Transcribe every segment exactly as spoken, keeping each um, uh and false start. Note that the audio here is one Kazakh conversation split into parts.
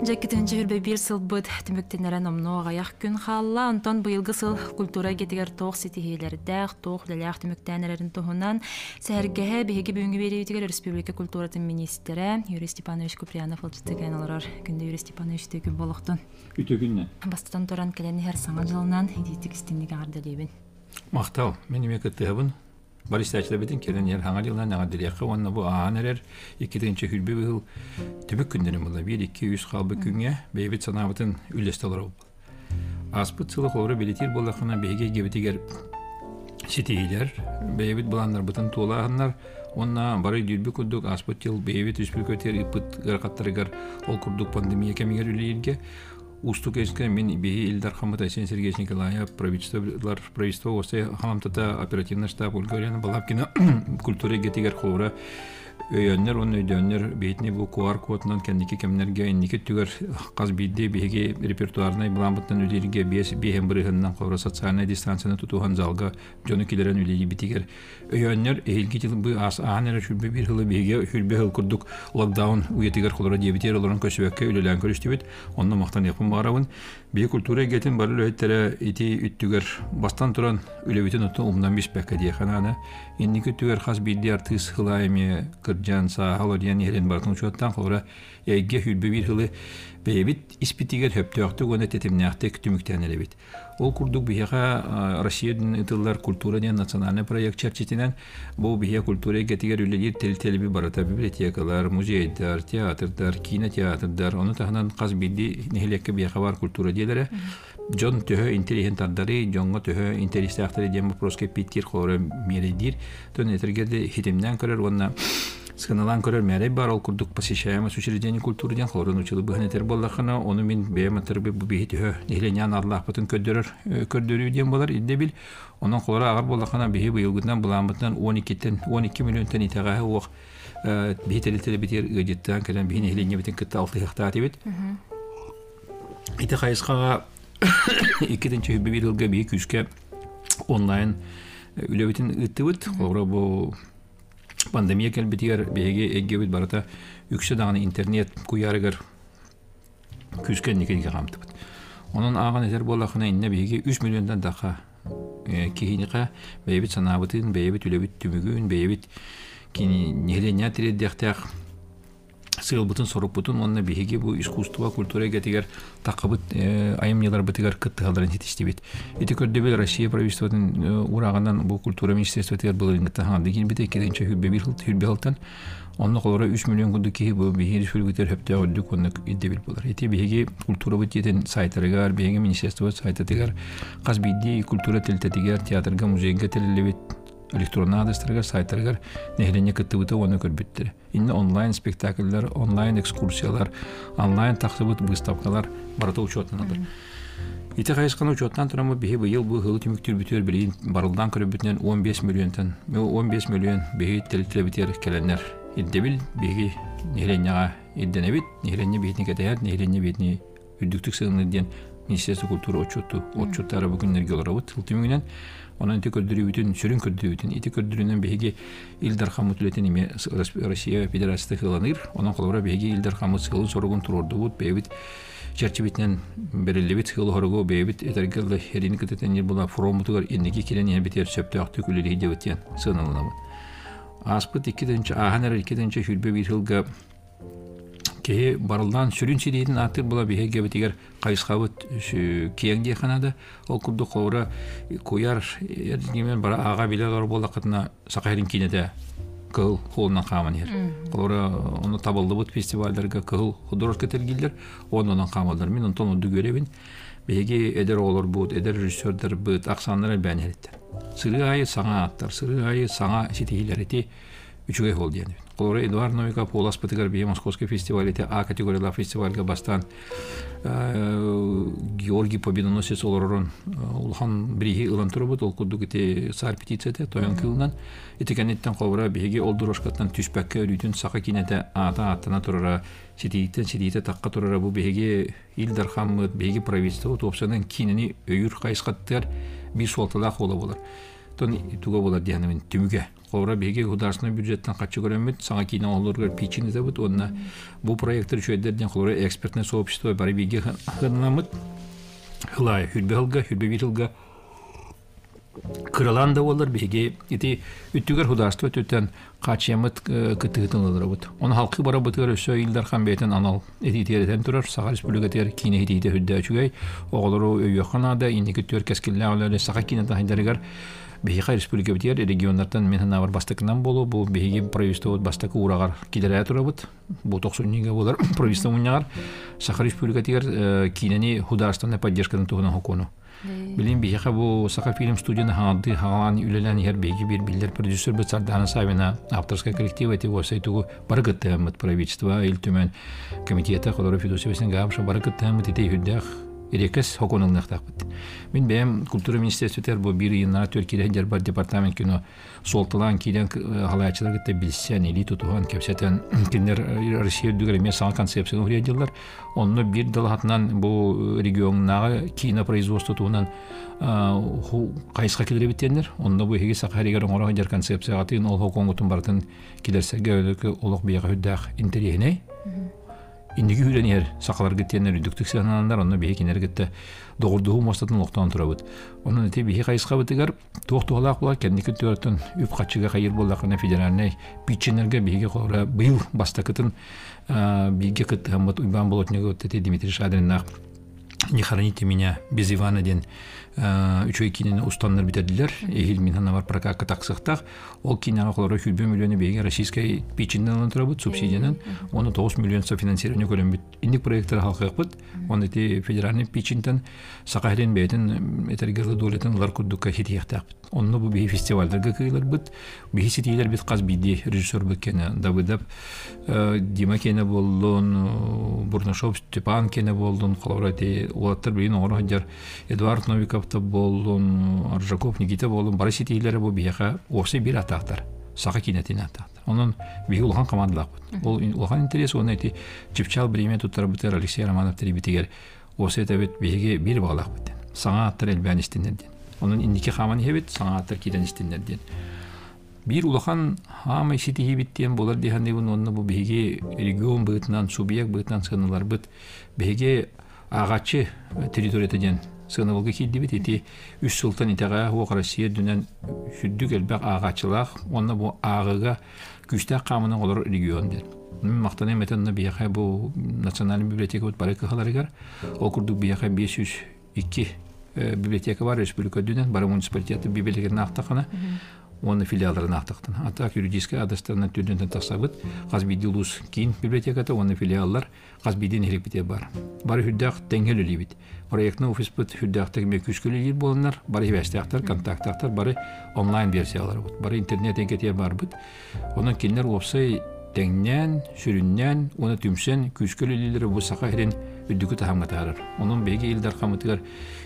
Жакетинче хүрбе бир сылбыт түмүктенерен омно аяк күн халла, онтон быйылгы сыл культура кетигер тоқ сетихилердәк, тоқ дәләк түмүктәнерен тоһунан сәргәһе беге бүгүнкү беребитигер республика культуратын министре Юрий Степанович Куприянов олжытыган олорор күндө Юрий Степанович төкү болохтун. Үтө күннө. Бастан туран келени һәр саңа жылынан идитик истинлиги ардалыбын. Мактал, мен эмеке тыбын. Баристачылар битин келен ер хаңа жылдан ага дирекка онна бу аанерер икидинчи хүрбе был түбүк күндөрү була бир эки үч калбы күнгө бейбит санабытын үлестелер. Аспыт сылы хору билетир болакына беге гебитигер ситилер бейбит буландар бутын туулагандар онна бары дүрбү күндүк аспыт жыл бейбит үспүркөтер ипыт гыркаттарыгар ол курдук пандемия кемигер үлелерге Устук эске мен бии Илдар Хамытай Сен Сергеевич Николаев правительстволар правительство осе хамамтата оперативный штаб Ольга Балабкина культура гетигер хора өйөннөр он өйдөннөр бетне бу ку ар кодунан кендики кемнерге инники түгөр каз бидде биге репертуарный буламбыттан үлелерге бес бехем бирыгынан кора социальный дистанцияны тутуган залга жону килерен үлели битигер өйөннөр элги жыл бу ас анера шүрбе бир хылы биге шүрбе хыл курдук локдаун уетигер холора дебитер олорун көчөбөккө үлелен көрүштүбүт онно мактан япын барабын бие культура гетин бары өйттөрө ити үттүгөр бастан туран үлебитин оту умдан биспекке дие хананы инники түгөр хас бидде артыс хылайме кыржан сахалориян ерен бартын учуаттан холора эйге хүрбе бир хылы бейбит испитигер хөптөктү гөне тетимнякты күтүмүктенелебит. Ол курдук бияга Россиядын ытыллар культура ден национальный проект чарчитинен бу бия культура гетигер үлелер тел-телби барата библиотекалар, музейдар, театрдар, кинотеатрдар, оны тахынан каз бидди нехелекке бияга бар культура делере. Жон төһө интеллигенттардары, жонго төһө интересактары дем вопроске питтир хоры мередир. Тон этергеде хитимден көрөр онна Сканалан көрөр мәре бар ол курдук посещаемость учреждений культуры ден хорын учылы быхнетер боллахана оны мен бейматыр бу бейти нехленян арлах бутын көддөрөр көрдөрүү ден болар идде бил онун холора агар боллахана бейи быйылгыдан буламбытан он экиден он эки миллионтан итагы ок бейтелетеле битер ыжыттан келен бейи нехлене битин кытта алты гектар дебит ите кайыскага экидинчи бир жылга бейи күзгө онлайн үлөбүтүн ыттыбыт холора бу Пандемия келбетигер беге эггебит барата үксө дагы интернет куярыгар күзген никеге камтыбыт. Онун аган этер болакына инне беге үч миллиондан дака кийиника бейбит санабытын, бейбит үлөбүт түмүгүн, бейбит кини неленя тиреддектак сыйлбытын сорупбутун онна беге бу искусство культура гетигер такыбыт айымнялар бытыгар кыттыгаларын жетиштибит. Эти көрдөбөл Россия правительствотун урагандан бу культура министерство тер былын таган деген бите экинчи хүрбе бир хыл хүрбе хылтан онна колора үч миллион күндү ки бу бихир фүлгүтер хөптө өдүк онна идебил болар. Эти беге культура битен сайттарыгар беге министерство сайттыгар каз бидди культура телтетигер театрга музейге телелебит электронный адрестарга сайттарга нехлене кыттыбыты оны көрбүттүр. Инне онлайн спектакльлер, онлайн экскурсиялар, онлайн тактыбыт выставкалар барыта учетунадыр. Ите кайыскан учеттан турамы бихи быйыл бу хылы түмүктүр бүтөр билин барылдан көрбүтүнөн он беш миллионтан, он беш миллион бихи телетелебитер келенер. Иддебил бихи нехленега идденебит, нехлене бихитни кетер, нехлене бихитни үдүктүк сыгыны ден Министерство культуры отчету, отчеттары бүгүннерге олорабыт тылтымыгынан онан ити көрдүрүүтүн сүрүн көрдүрүүтүн ити көрдүрүүнөн беги Илдар Хамыт үлетен эме Россия Федерациясы кыланыр онан колора беги Илдар Хамыт сылын сорогун турордубут бейбит чарчыбитнен берилебит сылы хорого бейбит этергелде херини кытетен ел була фромутугар эннеги келен битер сөптөктүк үлелеги дебитен сыналынабы аспыт экидинчи аханер экидинчи хүрбе бир жылга ке барылдан сүрүн сирийдин атыр була беге битигер кайыскабыт кеңде канада ол курду кора куяр эрдимен бара ага билер болакытына сакайрын кинеде кыл холна каманер кора оны табылдыбыт фестивалдарга кыл художественный тергилер ондан камалдар мен онтон уду көрөбүн беге эдер олор бут эдер режиссердер бут аксандар бәнереттер сыры айы саңа аттар сыры айы саңа ситилерити үчүгө хол дияны Колора Эдуард Новиков Полас Патыгар бие Московский фестиваль это А категория фестивальга бастан Георгий Победоносец олорон улхан бриги ылан турбут ол кудук эти сар петицияте тоян кылынан этикенеттен колора биги олдурошкаттан түшпәккә үрүтүн сака кинете ата атына турара ситииттен ситиите такка турара бу биги Илдар Хамыт биги правительство топсанын кинени өйүр кайыскаттар бир солтала кола болар. Тон туга болар дияны мен түмүгө Колора беге государственный бюджеттен качы көрөмөт, саңа кийин олоргор пичин дебут, онна бу проекттер чөйдерден колора экспертное сообщество бары беге хынамыт. Хылай хүлбелга, хүлбевилга Кыраланда олар беге ити үттүгөр государство төтөн качымыт кытыгытылар бут. Он халкы бара бутыр өсө илдар хан бетен анал эти терден турар Саха республика тер кине хидите хүддә чугай оглору өйөханада инеке төр кескилләүләре Саха кине тахиндаргар беге республика битер регионнардан мен навар бастыкынан болу бу беге правительство бастыкы урагар килерә турабыт. Бу токсоннигә булар правительство уняр Саха республика тер кинени государственная поддержкадан туган хокуну. Билин бихе бу Саха фильм студияны ханды хаган үлелән һәр беге бир биллер продюсер бит Сардана Савина авторская коллектива эти восайту баргыттамыт правительство ил төмен комитеты колоры фидосевесен гамша баргыттамыт ите хүддәх ирекес хоконын нахтакбыт. Мин бем культура министрлыгы бу бир елна Төркиядә дер бар департамент кино солтылан килен халаячылар гытта билсән или тутуган кепсәтен киндер Россия дүгәр мен сан концепцияны үредиләр. Онны бир дылатнан бу регионнагы кино производство туган ху кайска килер биттендер. Онда бу һеге Сахарыгар оңора дер концепция атын ол хоконгутун бартын килерсәгә олык бияга хүддәх интерьене. Индиги хүләнер сакалар гиттенер дүктүк саналандар онны бие кинер гитте догурдуу мостатын локтан турабыт. Онун эти бие кайска битигер токтолак булар кендики төртөн үп качыга кайыр болдакына федеральный питченерге биеге кора быйыл бастакытын биеге кыт хамат уйбан болотнего эти Дмитрий Шадриннах не храните меня без Ивана ден үчөй кинени устаннар битедилер. Эхил минхан бар прокатка таксыктак. Ол кинага колору хүлбе миллионы беге российской пичинден турабыт субсидиянан. Оны тогуз миллион софинансирование көрөмбүт. Инди проекттер халкыкпыт. Оны эти федеральный пичинден Сакахден бетин этергерлы дөлөтөн лар курдукка хитияктакпыт. Онны бу бе фестивальдерге кыйлар бит. Бе ситилер бит каз биди режиссер бекене Давыдов Дима кене болдун, Бурнашов Степан кене болдун, колорати улаттар бин орохжар Эдуард Новиков болдун, Аржаков Никита болдун, бары ситилер бу бияга осы бир атактар. Саха кинетин атактар. Онун бии улган командалак. Ол улган интерес оны эти Чипчал бреме туттар битер Алексей Романов терибитигер. Осы этебет биге бир баглак бит. Саңа аттар элбән истиннерден. Onun indiki xaman hebet sanatlar kiden istinlerden. Bir ulakan hamay siti hebettiyen bolar dehande bun onna bu bege region bıtından subiyak bıtından sınırlar bıt bege ağaçı teritoriyeden sınırlığı kildi bit eti üç sultan itağa o Rusya dünen süddük elbaq ağaççılaq onna bu ağıga güçte qamının olur regionder. Maqtanay metanna biyaqa bu nasyonal biblioteka bit baraka xalarıgar o kurduk biyaqa beş yüz iki biblioteka var Respublika dünen barı municipaliteti bibliotekanın aqtaqana onun filiallarına aqtaqtan. Atak юридический адрестернен dünden tasabıt Qazbidilus kin bibliotekada onun filiallar Qazbidin helipite бар. Barı hüddaq tengel ölibit. Proyektni ofis bit hüddaqtaki meküskülü yer bolanlar barı hevestaqtar, kontaktaqtar barı online versiyalar bit. Barı internet enketiye bar bit. Onun kinler opsay tengnen, sürünnen, onu tümsen küskülüleri bu Sakahirin üddükü tahamga tarır. Onun bege ildar qamıtıgar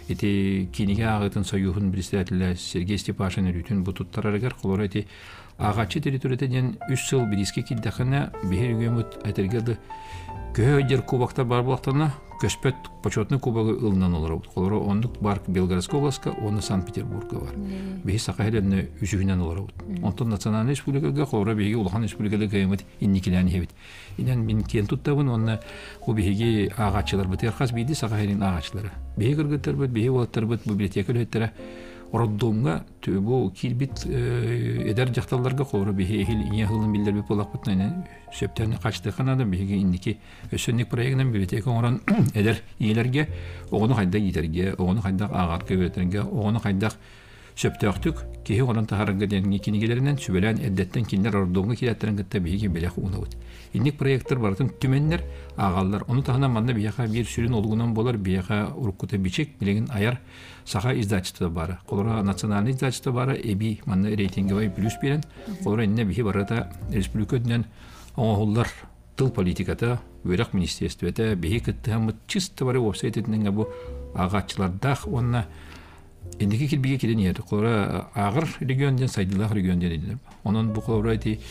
eti kinige ağıtın sayuhun председателя Сергей Степашин rütün bu tuttararıgar qolora eti ağaççı teritoriyeden üç yıl biriski kildaqına behir ügemut aytargardı köhödер kubaktar бар bulaqtana köspet почетный кубагы ылынан олар. Qolora onluk bark Белгородская областка, оны Санкт-Петербургга бар. Беги Сакаһирен үжүгүнөн олар. Онтон национальный республикага qolora беги улахан республикада каймыт инникилени хебит. Инен мен кен туттабын, онна у беги агачылар битер хас биди Сакаһирин агачылары. Беги кыргыттар бит, беги болаттар бит библиотека леттер. Роддомга төбө килбит эдер жакталарга qolora беги хил ия хылын билдер бит болак битнайны сөптен качты канада беги инники өсөнник проектинен библиотека оран эдер иелерге оғыны қайда етерге, оғыны қайда ағарқа өтерге, оғыны қайда сөптөқтік, кейі оран тағарынға денге кенегелерінен сөбелен әддеттен кендер ордуңға келеттерін кітті бейге белек уына өт. Инник проекттер бардың түменнер ағалар. Оны тағынан манда бейеқа бір сүрін олғынан болар, бейеқа ұрыққыта бичек, білеген аяр сақа издатчыты бары. Қолыра национальный издатчыты бары, эби манда рейтингі бай плюс берен. Қолыра инне бейе барата республикөдінен оңғылар тыл политиката, Вырак министерствете бейе кіттіғамы чисты бары офсайтетінен бу ағатчылардақ онына ендеке келбеге келен еді. Қолыра ағыр регионден, сайдылақ регионден еділіп. Onun bu kolora eti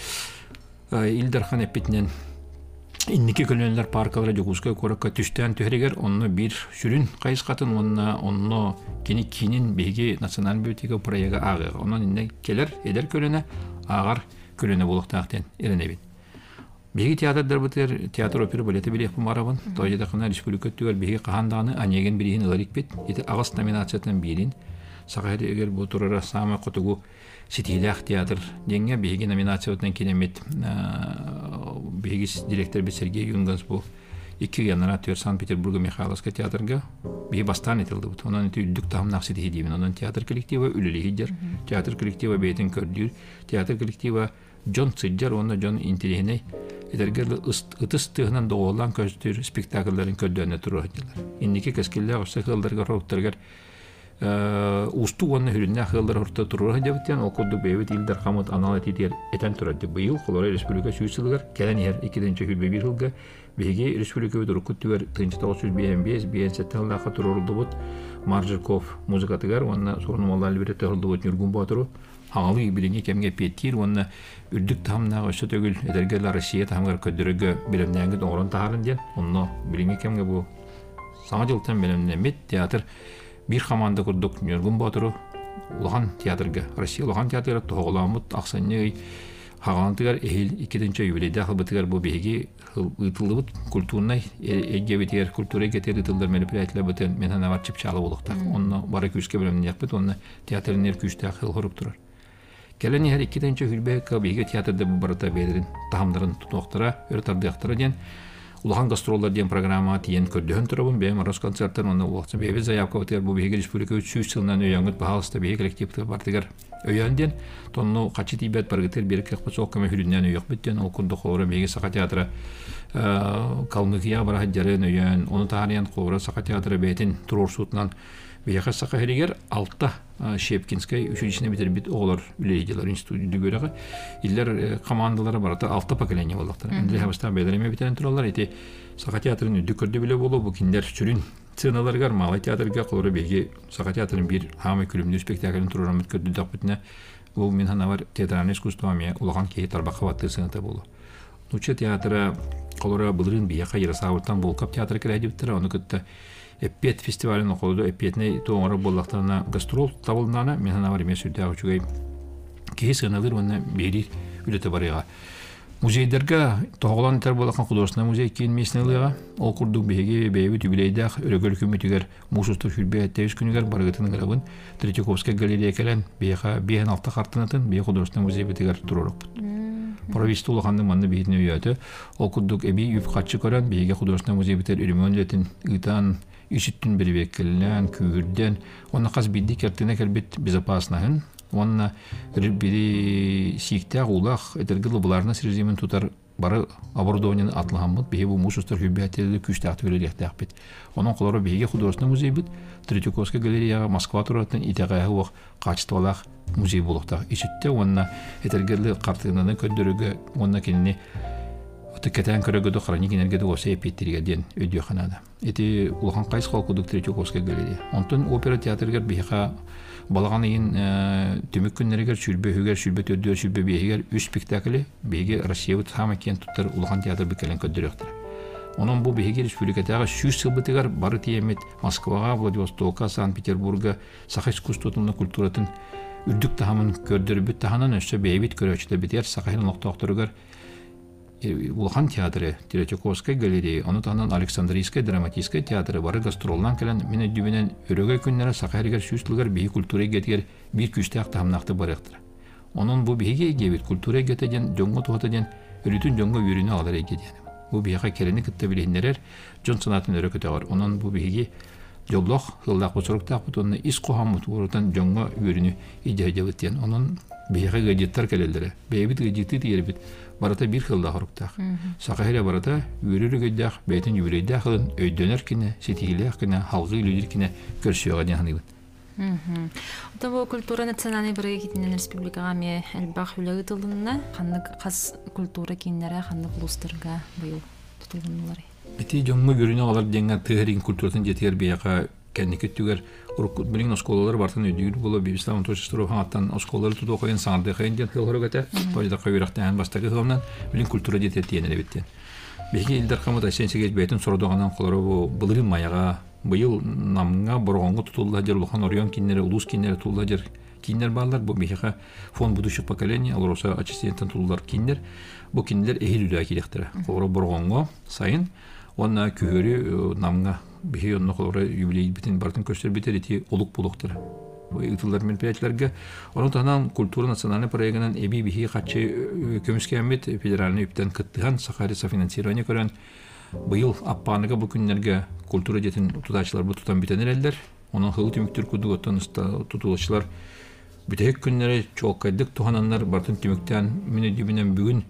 ildarхан эппетинен инники көлөнлөр паркалары жогуска коракка түштөн төһрегер онны бир сүрүн кайыскатын онна онно кени кинин беги националь библиотека проекта агы. Онун инне келер эдер көлөнө ағар көлөне болуктаактен эренебин. Беги театрдар бутер театр опера балеты билек бумарабын. Тойда кына республика түгел беги каханданы анеген бирин ыларик бит. Ити агас номинациятан бирин. Сагайда эгер бу турара сама котугу ситилях театр денге беги номинациятан кинемет беги директор бит Сергей Юнгас бу iki генератор Санкт-Петербурга Михайловский театрга беги бастан этилди бут. Онан ити үддүк тамнаксы дийдибин. Онан театр коллектива үлелигидер. Театр коллектива бейтин көрдүр. Театр коллектива Джон Циддер, онна Джон Интелигеней Эдергерлі ұтыстығынан доғылан көздер спектакльларын көддөне тұру haddiler. Иннеки кәскелі ғырсы қылдарға роуттарғар ұсту онны хүрінне қылдар орта тұру haddibiттен, ол көдді бейбет илдар қамыт аналат етер етен тұрады. Бұйыл Қолорай Республика сүйсілгар, кәлін ер екідінші хүрбе бір жылға бейге Республика өді рұқыттығар тыңчы тоғыз жүз бейен бес бейен сәтті ғылақы тұрырылды бұд Маржирков музыкатығар, онна сорынмалар әлбірет тұрылды бұд Нүргін батыру. Хаңалы билинге кемге петтир, онна үрдүк тамнага өсө төгүл эдергелер Россия тамгар көдөрөгө билемнәңге орын тагарын ден. Онно билинге кемге бу саңа жылтан билемнәмет театр бир команда курдук Нүргүн Батыру улахан театрга Россия улахан театры тоголамыт аксанны хагантыгар эхил икинчи юбилейде хылбытыгар бу беги ытылыбыт культурный эгебетер культура кетер ытылдар мероприятиялар бутен мен ана вачып чалы болуктак. Онно бары күскө билемне якпыт, онно театрнер күчтө хыл хоруп турар. Келени her ikkinci hülbeka bege teatrda bu barata belirin tahamların tutuqtara örtardıyaqtara den ulahan gastrollar den programma tiyen kördühün turabın benim aros konsertler onu uaqsa bebe zayavka öter bu bege Республика üç yüz yılından öyangut bahalsta bege kollektivti bartigar öyandan tonnu qaçı tibet bargıtır bir kırpı soqqama hülünden öyak bitten o kundu xora bege saqa teatra Kalmıkiya bara hajjarın öyan onu tariyan xora saqa teatra betin turursutlan Бияқа сақа херегер алтта Шепкинскай училищені бітірбет оғылар үлейділер институтыды көрігі. Иллер командалары барата алтта поколение болдықтар. Әнділі хабыстан бәдіреме бітірен тұралар. Еті сақа театрын үдді көрді біле болу. Бұл кендер сүрін сценаларғар Малай театрға қолыры бейге сақа театрын бір хамы күлімді спектаклін тұрырамыд көрді дақ бітіне. Бұл мен хана бар театраны искусствами ұлаған кейі тарбаққа батты сыныта болу. Нуча театры қолыры бұлырын бияқа ерасауыртан болқап театры кірәді біттір. Оны күтті Эппет фестивалін оқылды, эппетіне тоңыры боллақтарына гастрол табылынаны, мен хана бар емес үрді ағычуғай кейі сығыналыр, оны бейрер үлеті барыға. Музейдерге тоғылан тәр болаққан құдырысына музей кейін месінеліға, ол құрдық бейге бейбіт үбілейдіғ, өрігөл күмметігер мұсыстық жүрбе әттәуіз күнігер барығытының ғырабын Третьяковская галерея кәлін бейға бейін алты қартынатын бей құдырысына музей бітігер тұрырық бұд. Провести улаханның манны бейтіне өйәті, ол құрдық әбей үп қатшы көрін бейге құдырысына музей бітер үрімен өлетін ұйтан Ишиттин бербеккеллен, күгірден, оны қаз бидді кертіне кәрбет безопаснағын, оны бири сиіктәқ улақ әтергілі бұларына сірземен тұтар бары оборудованияны атлыған бұд, бейге бұл мұсыстар хүббәтелі күштәқті өлелектәқ бет. Оның қолары бейге құдырысына музей бет, Третьяковская галереяға Москва тұратын итәғайы оқ қачыстывалақ музей болуқтақ. Ишитте, оны әтергілі қартығынан көндірігі, оны кеніне Кетен көрөгөдө хроник энергияда оса эпеттерге ден өйдө ханада. Эти улахан кайс халкудук Третьяковская галерея. Онтон опера театргер бейха балаган ийин төмөк күннергер сүрбө хүгер сүрбө төддөр сүрбө бейгер үч спектакли бейге Россия хама кен туттар улахан театр бекелен көддөрөктөр. Онун бу бейге республикадагы жүз сылбытыгар бары тиемет Москвага, Владивостокка, Санкт-Петербурга саха искусствотунун культуратын үрдүк тахамын көрдөрбүт таханан өссө бейбит көрөчтө битер сахаһын ноктокторугар Улахан театры, Третьяковская галерея, оны тағынан Александрийская драматическая театры бары гастролдан кәлін мені дүбінен өрөгөй күннері сақайрығар сүйістілгер бейі культура гетігер бір күшті ақты хамнақты барықтыр. Оның бұл бейге егебет культура гетеден, жоңғы туғатеден, үрітін жоңғы үйріні алар егеден. Бұл бейға кәріні күтті білейіндерер жон санатын өрі көтеғар. Оның бұл бейге жоллық, ғылдақ бұсырықтақ бұт, оны ис қоғамыт ұрытан жоңғы үйріні идея Оның бейға ғадеттар кәлелдері, бейбіт ғадетті дейірбіт. Барата бир хылда хоруктак. Сакайра барата үрүрүгөйдак, бейтин юрейдак хылын өйдөнөр кине, сетигилек кине, халгы үлүдүр кине көрсөөгө ден ханыбын. Ота бу культура национальный бирге китинен республикага ме элбах үлөгү тылдынна, ханнык кас культура киннере, ханнык улустарга быйыл тутулгунлары. Эти жоңго көрүнө алар деңге тыгырын культуратын жетер бияка кенники түгөр урукут билин осколалар бартын өдүр боло бибислам точстро хаттан осколалар туту коен саңды кайынден хылгырыгата тойда кайырактан бастагы хылынан билин культура жетет тиенеле биттен. Беги илдар камыта сенсеге бетин сородоганан колору бу былырын маяга быйыл намга боргонго тутулда жер лухан орион киннери улус киннери тутулда жер киндер баллар, бу бихиха фон будущих поколений, алроса ачистенттен туллар киндер, бу киндер эхил үлә килектер. Колора боргонго сайын, онна күһөрү намга бихи онно колора юбилей битин бартын көстөр битер ити олук булуктыр. Бу итилер мероприятияларга, onun tanан культура национальный проектынан эби бихи качы көмүскәмбет федеральный үптен кыттыган Сахари софинансирование көрөн. Быйыл аппаныга бу күннәргә культура детин тутачлар бу тутан битенерлер. Onun хылы түмүктөр күдү оттан тутулучылар бүтек күннәре чоккайдык тухананнар бартын түмүктән мине дибинен бүгүн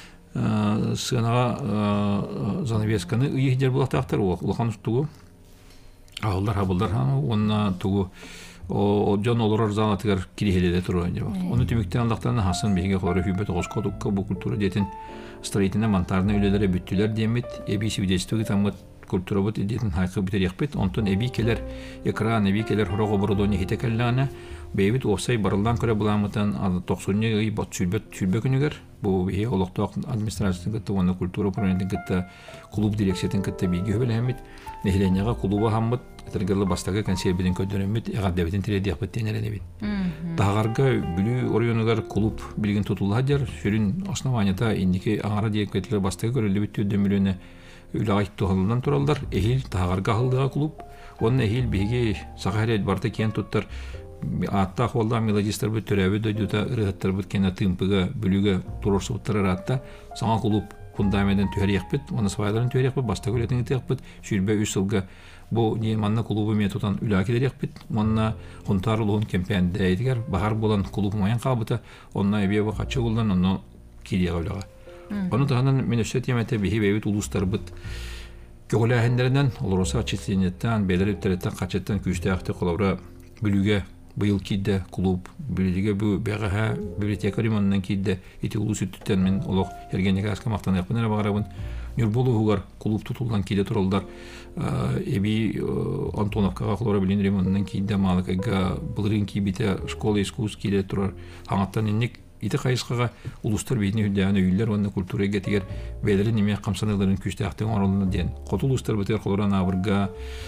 сынага занавесканы ыйдер булактактар улахан тугу. Алдар хабылдар ханы онна тугу о жон олорор занатыгар кирихеледе турган жаба. Оны түмүктән Аллахтан хасын беге хлоры хүбет оскодукка бу культура детин строительный монтажный үйлелере бүттүлөр демит, эби свидетельствоги тамыт культура бут идетин хайкы битер якпет, онтон эби келер экран, эби келер хорого бородони хитекеллана, бейбит офсай барылдан көрө буламытан токсонне ый бот сүлбөт сүлбө күнүгөр, бу бие олокток администрациятын кытты, оны культура управлениятын кытты, клуб дирекциятын кытты биги хөбөлөмит, нехленяга клуба хаммыт, этергерлы бастагы консервидин көдөрөмит, ага дебитин тиреди якпет тенеренебит. Тагарга бүлү орионугар клуб билген тутулладыр, сүрүн основанията индики аңара диекетлер бастагы көрөлүбүт төдөмүлөнө үлайт тухалдан туралдар, эхил тагарга хылдыга клуб, onun ehil bihi Sakarya'da barta kent tuttar atta holda melodistler bu törevi döydüta ırıhtır bu kena tımpıga bülüge turursu buttar atta sana kulup fundamenten tüher yakbet, onu svayların tüher yakbet, basta göletin iti yakbet, şülbe üç yılga bu manna kulubu metutan ülakiler yakbet, manna huntar uluğun kempiyende eydigar, bahar bulan kulubu mayan kabıta, onna ebiye bu kaçı kullan, onu kiriye gavlaga. Onu tahanan menüsset yemete bihi beyvit ulustar bıt, Köğüləhəndərdən, olursa çitliyiniyyətdən, beylər üptərətdən, qaçətdən, küçtəyəqdə qolavra bülüge, bıyıl kiddə, klub, bülüge bu bəğəhə, biblioteka limanından kiddə, iti ulu süttütten min, oluq, ergenlik əskə maqtan yaqbınara bağırabın, Nürbolu huğar, klub tutuldan kiddə turallar, ebi Antonovkağa qolavra bilin limanından kiddə, malıqayga, bılırın kibitə, şkola iskus kiddə turar, hanqattan innik, ити қайысқаға улустар бейдіне хүлдәғаны үйлер, онына культура гетігер бәлері неме қамсаныларын күшті оралына ден. Қоты улустар бітер қолыран авырға,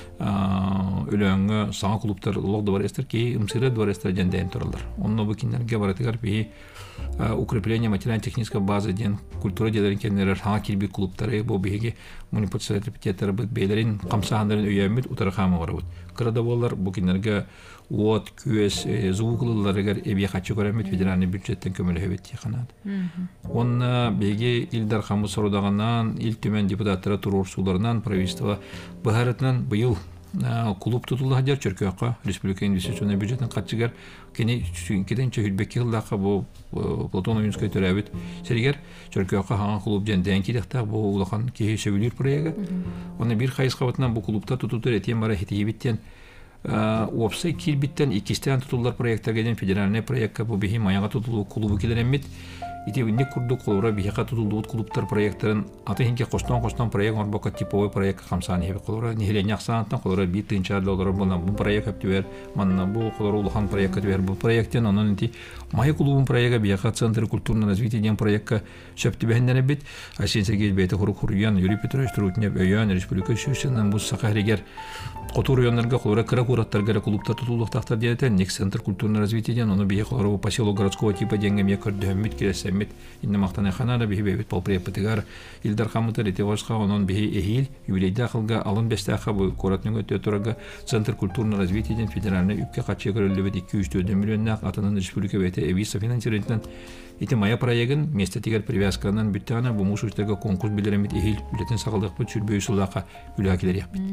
өләңі, саңа клубтар лоғды бар әстер, кей ұмсыры бар әстер ден дәйін тұралар. Онына бұл кендерге баратығар бей укрепление материально-технической базы ден культура дедерін кендерер саңа келбей клубтары, бұл бейге манипуляциялар репетиятары бұд, бәлерін қамсағандарын өйәмет ұтары қамы бар бұд. Қырада болар бұл кендерге от, күес, звуклыларыгар эбие хачы көрәмет федеральный бюджеттен көмөлі хөбетті қанады. Онна беге илдар қамы сорудағанан, ил төмен депутаттары тұрор суларынан, правительство бұхарытынан бұйыл клуб тұтылы хадер Чөркөққа, республика инвестиционный бюджеттен қатшығар, кені кеденче хүлбекке қылдаққа бұл Платон Уинскай төрәбет сәрігер Чөркөққа хаңа клуб ден дән кедектақ бұл ұлақан кейі сөйлер проегі. Оны бір қайыз қабатынан бұл клубта тұтылыр әтен бара хетейбеттен Опсай килбиттен икистен тутулар проекттарга федеральный проектка бу бихи маяга тутулуу клубу келеремит. Ити не курду колора бихига тутулуу клубтар проекттарын аты хинке костон костон проект орбока типовой проект камсаны хебе колора нихилен яксантан колора битинча доллар болан бу проект аптыбер манна бу колора улахан проект аптыбер бу проекттен анын ити май клубун проектга бихига центр культурного развития ден проектка шептибендене бит. Асен Сергей бейте хуруян Юрий Петрович Трутнев өйөн республика шүсенен бу Сахаригер Котур районларга колора кыра кураттарга клубтар тутулуктактар диетен Ник центр культурного развития ден аны бихи колора поселок городского типа денге мекөрдөммит келесемит инде мактана ханада бихи бебит полпрепатыгар Илдар Хамытар итевашка онон бихи эхил юбилейда кылга алын бестаха бу коратның өтө турага центр культурного развития ден федеральный үпкө качы көрөлүбүт эки жүз төрт миллионна атынын республика бете эвиса финансирование ити мая проектин месте тигер привязканан бүттана бу мушуштарга конкурс билеремит эхил билетин сагалдык бу чүрбөй сулака үлакилер яппит.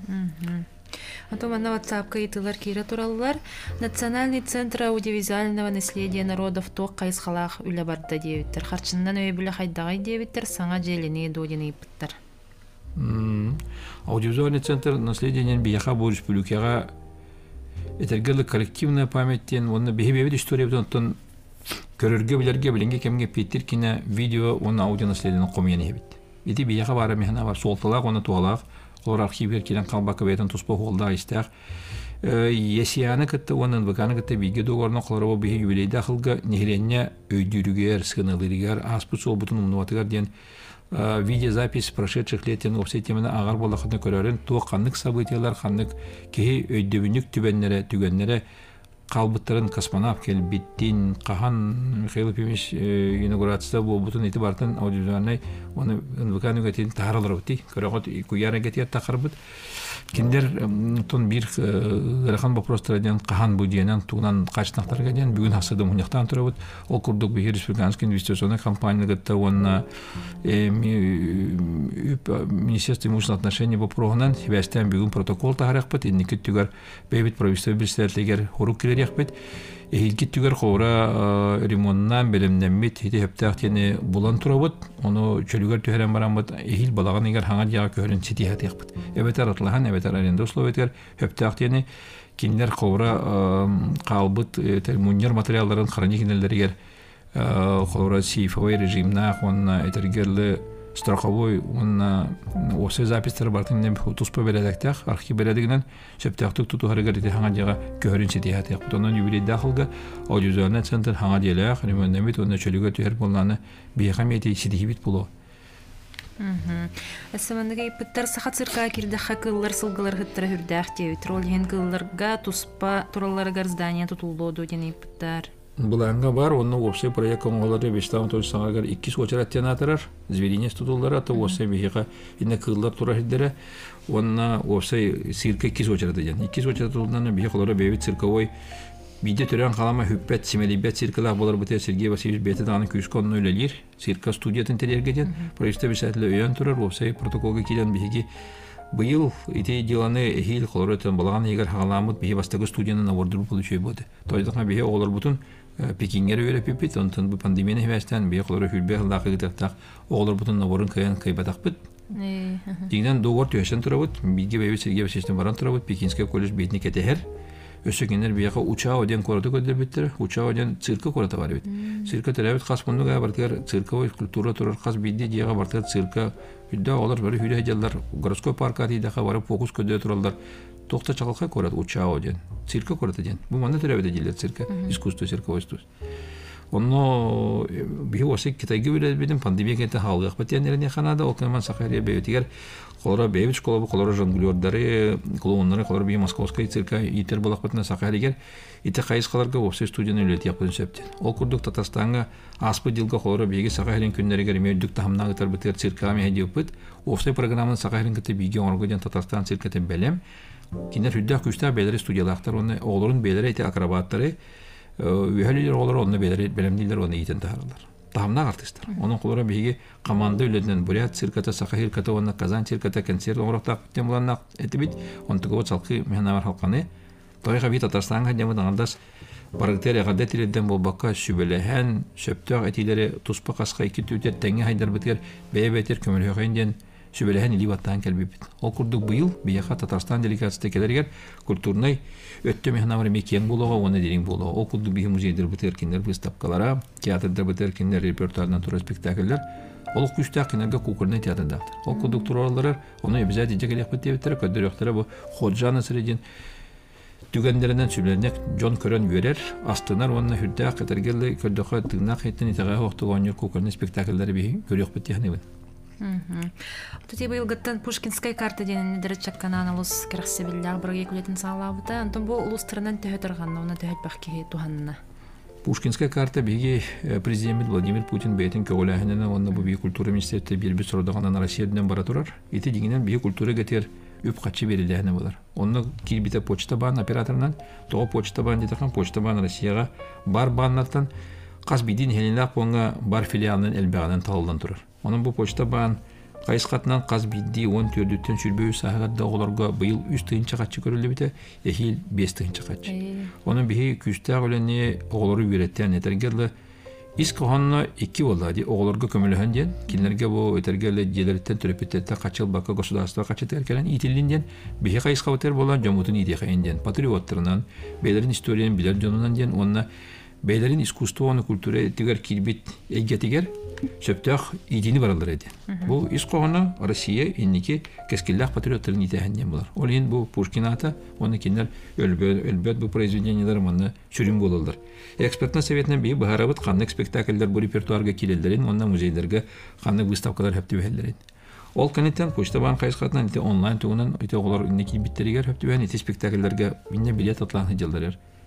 А манна WhatsApp-ка итылар кире тураллар. Национальный центр аудиовизуального наследия народов ток кайсхалах үле барда дебиттер. Харчындан өй бүле хайдагай дебиттер, саңа желени додины иппиттер. Аудиовизуальный центр наследия бияха бу республикага этергелик коллективная памяттен, онна бихи-бебит история бутон көрөргө билерге билинге кемге петтир кине видео онна аудио наследияны комияны хебит. Ити бияха бары механа бар, солталак, онна туалак, Олар архивер келен қалбақы бәйтін тұспа қолда айстақ. Есияны кітті, оның бұқаны кітті бейге доғарына қоларабы бейі юбилейді ақылға нехеленне өйдүрігер, сқынылырігер, аспыт сол бұтын ұмнуатығар ден видеозапись прошедших леттен опсай темені ағар болақытына көрерін, туы қанлық событиялар, қанлық кейі өйдебінік түбенлері, түгенлері қалбыттарын космонавт келбиттин кахан Михаил Пимиш инаугурацияда болбутун ити бартын аудиторияларнай оны НВК-нүгетин тааралар бути көрөгөт куяра гетият такырбыт киндер тон бир ырахан вопростардан кахан бу диенен тугунан качтактарга ден бүгүн асыды муньяктан турабыт ол курдук бир республиканский инвестиционный компанияга та онна Министерство имущественных отношений по прогонан вестен бүгүн протокол тааракпыт инники түгөр бейбит правительство билсерлигер хурук киререкпит эхилки түгөр хора ремонтнан белемнеммит хити хептактени булан турабыт оны чөлүгөр төһөрөн барамбыт эхил балаган эгер хаңа жага көрүн сити хатыякпыт эбетер атлахан эбетер аренда условиятер хептактени киндер хора калбыт муньер материалдарын храникинелеригер хора сейфовой режимна онна этергерле страховой он осы запистер бартын тус побередектер архив бередигинен септактык туту харыгар хаңа жага көрүн сити хатыяк бутонун юбилей дахылга аудиозуарна центр хаңа делек ремонтнемит онна чөлүгө төһөр болланы бейхамети сидихибит боло. Әсәмәндәге иптәр сахат цирка кирдә хакыллар сылгылар хиттәр хүрдәх тевит роль хенгылларга туспа туралларга здание тутулды дигән иптәр. Буланга бар, онны опсай проект коңолары бештан тоҗсаңагар ике сочарат тенатрар, зверинес тутуллар ата опсай бихига инне кыллар тура хиддере, онна опсай цирка ике сочарат дигән. ике сочарат тутулдан бихигалары бейбит цирковой биде төрән калама хүппәт симелибет циркалар булар бите Сергей Васильевич бете даны күсконны үлелер, цирка студиятын телергеден, проектта бишәтле өйән турар, опсай протоколга килгән бихиги быйыл ите деланы эхил колоротон балаган егер хагаламыт бихи бастагы студияны навордырып получуй болды. Тойдыга бихи олар бутун Пекингер өйрәпипит, онтон бу пандемияны хәбәстән бихи колоры хүлбе хылдакы гытактак олар бутун наворын кыян кыйбатакпыт. Дигән договор төшән турабыт, биге бәйбе Сергей Васильевич баран турабыт, Пекинский колледж бетне кетәһәр. Өсөгеннәр бияка учао ден корды көдер биттер, учао ден цирка корда бар бит. Цирка терәбит хас бунда бартыр цирковой культура турар хас бидди дияга бартыр цирка хүддә алар бер хүдә җаллар городской паркка дидә хабары фокус көдә туралар. Токта чакалка корда учао ден, цирка корда ден. Бу манда терәбит диләр цирка, искусство цирковой искусство. Онно бихосе китайга билет бидем пандемия кете халык бетенерне ханада окнаман сахария бейтигер колора бейбит школа колора жонглёрдары клоуннары колора би московская цирка итер булак бетне сахаригер ите кайыскаларга опсе студияны үлет япын септен. Ол курдук Татарстанга аспы дилга колора биге сахарин күннәргә мөддүк тахамнага тар бетер цирка ме хедипит. Опсе программаны сахарин кете биге оргоден Татарстан циркете белем. Кинер хүддә күстә белер студиялактар оны олорун белер ите акробаттары Үһәлиләр олар онны белемдиләр оны итен таһарлар. Тахамнак артисттар. Оның колора биге команда үледен Бурят цирката, Сахар цирката, онна Казан цирката, концерт орактак темланнак этибит, онтыгы салкы мехнавар халканы. Тойга бит Татарстанга демә даңдас барактер гадәтиләрдән булбакка сүбеләһән, шөптәк әтиләре туспа каска ике түтәт тәңгә хайдар битер, бәйбәтер көмел хәйдән сүбеләһән ливаттан кәлбит. Ол курдук быел бияха Татарстан делегациясы келергер культурный өттө мехнавар мекен булуга, оны дирин булуга. Ол курдук бии музейдер битер киндер выставкалара, театрда битер киндер репертуардан тура спектакльлер. Ол күчтә киндерге кукурный театрда. Ол курдук туралары, оны обязательно дигелек битер, көдөрөктөр бу Ходжана средин түгәндәреннән сүбеләнек Джон Көрән берер, астынар онны хүддә катергеле көдөхә тыгнак хеттен итәгә вакытыган кукурный спектакльләре бии көрөк битәһне. Тут был гаттан Пушкинская карта ден дәрәчәк каналус керәсебилләр бергә күләтен салабыта. Антон бу улустырынан төһәтергәнне, уны төһәт бәхкә туганна. Пушкинская карта биге президент Владимир Путин бейтен көгөләһенә, онны бу бие культура министрлыгы бирбе сордаган Россиядән бара турар. Ите дигәннән бие культура гетер үп качы бериләһенә булар. Онны килбите почта бан операторынан, то почта бан дитәкән почта бан Россиягә бар баннардан кас бидин хеленләр понга бар филиалын элбәгәннән талдан турар. Onun bu почта бан кайыскатынан каз бидди он төрттен сүрбөй сагатда оларга быйыл үч тыйынча катчы көрүлүп бите, эхил беш тыйынча катчы. Onun бихи күстә гөләне оглары үйрәттән этергәле искохонно iki болады, огларга көмөлөһөн ден, кинләргә бу этергәле җеләртән төрөпеттә качыл бакка государство качы тәркәлән итилиндән, бихи кайыска битер булган җамутын иде хәйендән, патриотларынан, бейләрен историянын билер җонунан ден, онна бейләрен искусствоны культура тигәр килбит әйгәтигәр Шөптәк идини баралар иде. Бу искогына Россия инники кескилләк патриотларын итәһәннән булар. Ул ин бу Пушкин ата, оны киндер өлбөт өлбөт бу произведениялар монда чүрин булалар. Экспертный советнән би баһарабыт канлык спектакльләр бу репертуарга килелдерин, онда музейларга канлык выставкалар һәптә бәһәлләрин. Ол контент почта бан кайыскатынан ите онлайн тугунан ите оглар инники биттеригәр һәптә бәһән ите спектакльләргә минне билет атланы җылдырыр.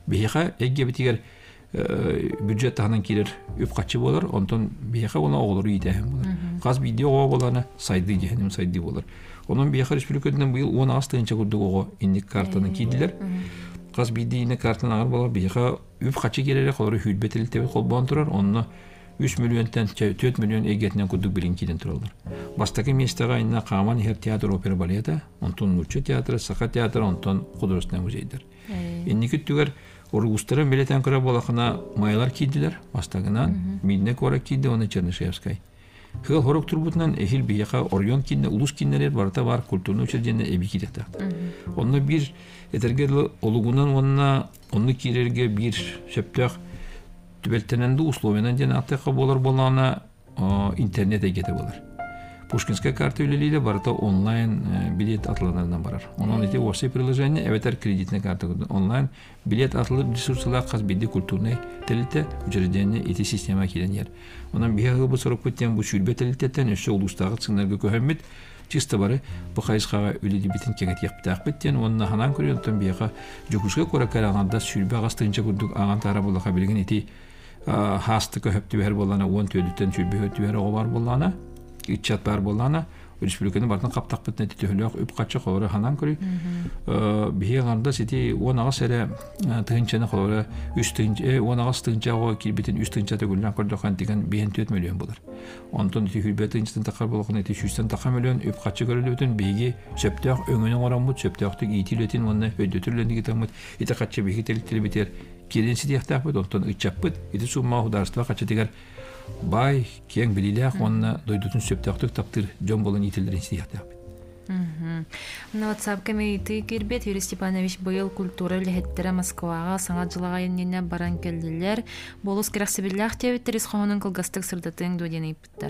бейха эгге битигер бюджет таханан кирер үп качы болар, онтон бейха оны оғылыры етәхен болар. Қаз видео оға боланы сайды дегенім сайды болар. Onun bir yakar Respublika'dan bu yıl on altı kurduk o indik kartını kiydiler. Qaz bidi ine kartını ağır bala bir yakar üp kaçı gererek olur hüdbeteli tebi kolban turar. Onunla üç milyondan dört milyon egetinden kurduk birinkiden turalır. Bastaki mestağa inna qaman her tiyatro opera baleta, onton Nurçu tiyatro, Saka tiyatro, onton Kudurostan muzeydir. İnniki tüger Orgustara beleten kıra balakına mayalar kiydiler. Bastakından midnek olarak kiydi onu Çernişevskay. Хыл хорок турбутнан эхил бияка Орион кинне улус киннелер барта бар культурный учреждение эби кидекта. Онны бир этергер олугунан онна онны кирерге бир шептак түбелтененди условиянан жана атака болар болана интернет эгете болар. Пушкинская карта үлелийле барта онлайн билет атыланарынан барар. Онон эти осы приложение эветер кредитная карта онлайн билет атылып ресурсалар каз бидди культурный телите учреждение эти система киленер. Ondan bir yıl bu sorup biten bu şürbeteliyetten öşe ulustağıt sınırgı köhemmit çista bari bu kayısqağa öleli bitin kenet yaptaq bitten onunla hanan körüyontan bir yağa jokuşga kora karağanda şürbe ağastığınca kurduk ağan tara bolaqa bilgin eti hastı köhöptü ver bolana on tölütten şürbe hötü ver o var bolana içat var bolana Respublikanın bardan kaptaq bitne tühülüq üp qaçı qora hanan körü bir yağanda seti on ağas ele tığınçanı qora üç tığınca on ağas tığınca o kilbitin üç tığınca tөгülən qordaqan digan dört milyon bolar. Ondan iti hülbet tığınçdan taqar bolaqın iti yüzden taqa milyon üp qaçı görülütün begi söptaq öngünün oranmut söptaqtıq itiletin onu ödötürlendi gitamut iti qaçı begi telitili biter kelensi diyaqtaq bit ondan içapbit iti summa hudarstva qaçı digar Bay keng bililek onunla doydutun söptaqtıq taptır John Bol'un itildirin siyaqtaq. На WhatsApp комитеті кирбет Юрий Степанович быйыл культура лехеттері Москваға саңа жылаға еннене баран келділер. Болус керақсыбілләқ тевіттеріз қоғының қылғастық сырдатын доден епіттер.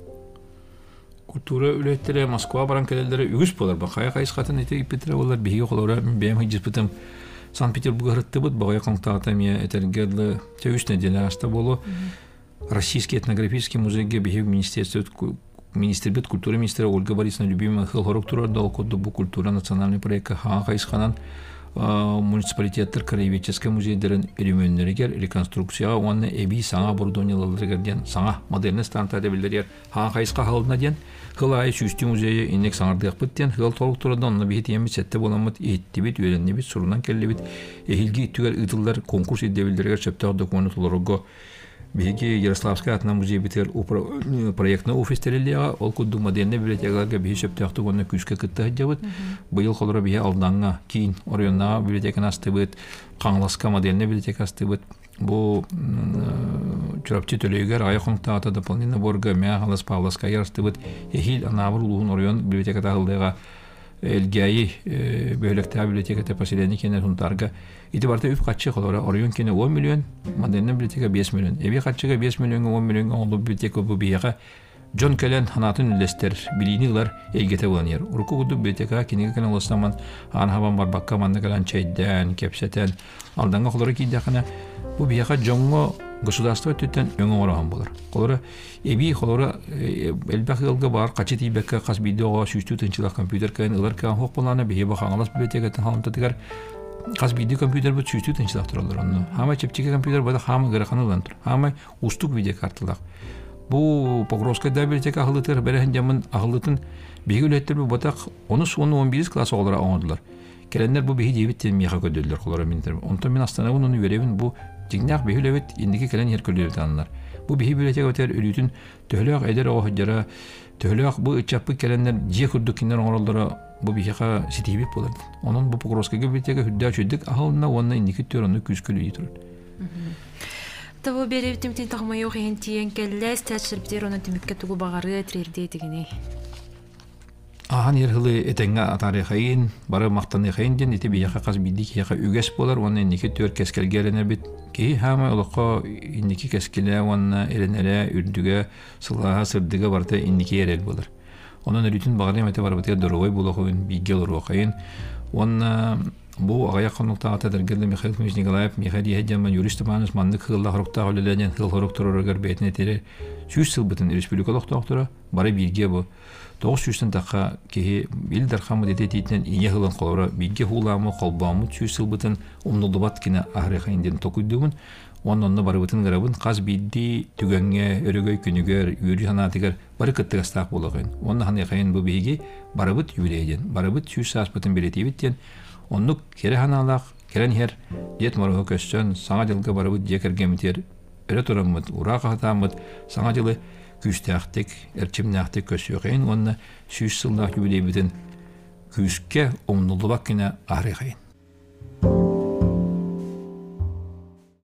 Kultura ülkeleri Moskva baran kelelere ügüs bolar. Bakaya kayıskatın ete ipetire olar. Bihiye kolara benim hicis bitim Sankt Peterburg'a hırttı bud. Bakaya kontaktamiye etergerli tevüs nedeni hasta bolu. Российский этнографический музейге бихев министерство министрлбет культуры министра Ольга Борисовна Любимова хыл хорок турар дал коду бу культура национальный проект ха кайсханан муниципалитеттер краеведческий музейдерин элемөннөргер реконструкцияга оны эби саңа бурдонялардырген саңа модерн стандарта билдер ха кайска халдына ден хылай сүстү музейе инек саңардык биттен хыл толук турардан оны бит эми сетте боламыт иттибит үйрөннебит сурунан келлебит эхилги түгөр ытылдар конкурс идебилдерге чөптөр документлорго Беги Ярославская атна музей битер проектный офис терелега ол кудду модерн библиотекаларга бишеп тактык оны күскө кытта жабыт. Быйыл холора бие алданга кийин Орионна библиотеканы астыбыт, Каңласка модерн библиотека астыбыт. Бу чурапчы төлөйгөр айконта ата дополнительно борга Мягалас Павловска ярстыбыт. Эхил анабыр улуун Орион библиотекада алдыга Элгяи бөлөктө библиотекада поселение кенер хунтарга итибарта үп качы холора Орион кене он миллион, модерн библиотека беш миллион. Эби качыга беш миллионга он миллионга олду библиотека бу бияга Джон Келен ханатын лестер билинилар элгете буланер. Урку гуду библиотека кенеге кенен олсаман ан хабан барбакка манда калан чайдан, кепсетен алданга холора кийдакана бу бияга жонго государство төттен өңө ораган болор. Холора эби холора элбахылга бар качы тийбекке кас видеого сүстү тынчылак компьютер кайын ылар кан хок булана бие бахаңалас библиотекатын халымтатыгар кас видео компьютер бу сүстү тынчылак туралар онно. Хама чепчиге компьютер бада хама гыраканылан тур. Хама устук видео карталак. Бу Покровская библиотека ахылытыр берен жамын ахылытын бегүлеттер бу батак он он он бир класс олара оңдулар. Келендер бу беги дебиттен миха көдөлдөр холора минтер. Онтон мен астанабын уну веребин бу Тигнак бихилебет индики келен herkülleri tanlar. Bu bihi bibliotek öter ölütün töhlök eder o hıcara töhlök bu içapı kelenler je kurdukinler orallara bu bihiqa sitibip bolar. Onun bu Pokrovskaya biblioteka hüdda çödük ahılına onna indiki törünü küskülü yiturur. Tabu beri timtin taqmayı oxentiyen kelles tәчіріптер оны түмікке тұғы бағары трерде дегіне. Ахан ерхылы этенге атары хайын, бары мақтаны хайын ден, еті бияқа қаз бидік яқа үгес болар, оны индекі төр кәскелге әленер бит. Кейі хама олыққа индекі кәскеле, оны әленере, үрдіге, сылаға, сырдыға барды индекі ерел болар. Onun ölütün bağırıyım ete var batıyor, doğruğay bulağıyın, bilgi olur oğayın. Onun бу агая конуктага тадыргылы Михаил Кузьмич Николаев, Михаил Ехедянман, юрист Иванов, маннык хылла хоруктага үлеләден хыл хоруктурургар бәйтіне тере сүз сылбытын республикалық тоқтыра бары бирге бу. Тоғыз сүзтен таққа кеге ил дархамы дете дейтінен ине хылын қолыра бирге хуламы, қолбамы сүз сылбытын умнулдубат кіне ахрехайынден токуйдугун. Оннонны бары бытын ғырабын қаз бидді түгенге, өрігөй күнігер, үйрі ханатығар бары кыттығастақ болағын. Онны ханы қайын бұл бейге бары бұт юлейден, бары бұт сүз саас бұтын беретейбіттен. Оннук кері ханалақ, керен хер дет марығы көстен саңа жылғы бары бұт декергемітер, өрі тұрамыд, ұра қағатамыд, саңа жылы күстіяқтық, әрчімнәқтік көсі өқейін, онны сүз сылдақ юлейбітін күске омнулы бақ кіне ары қайын.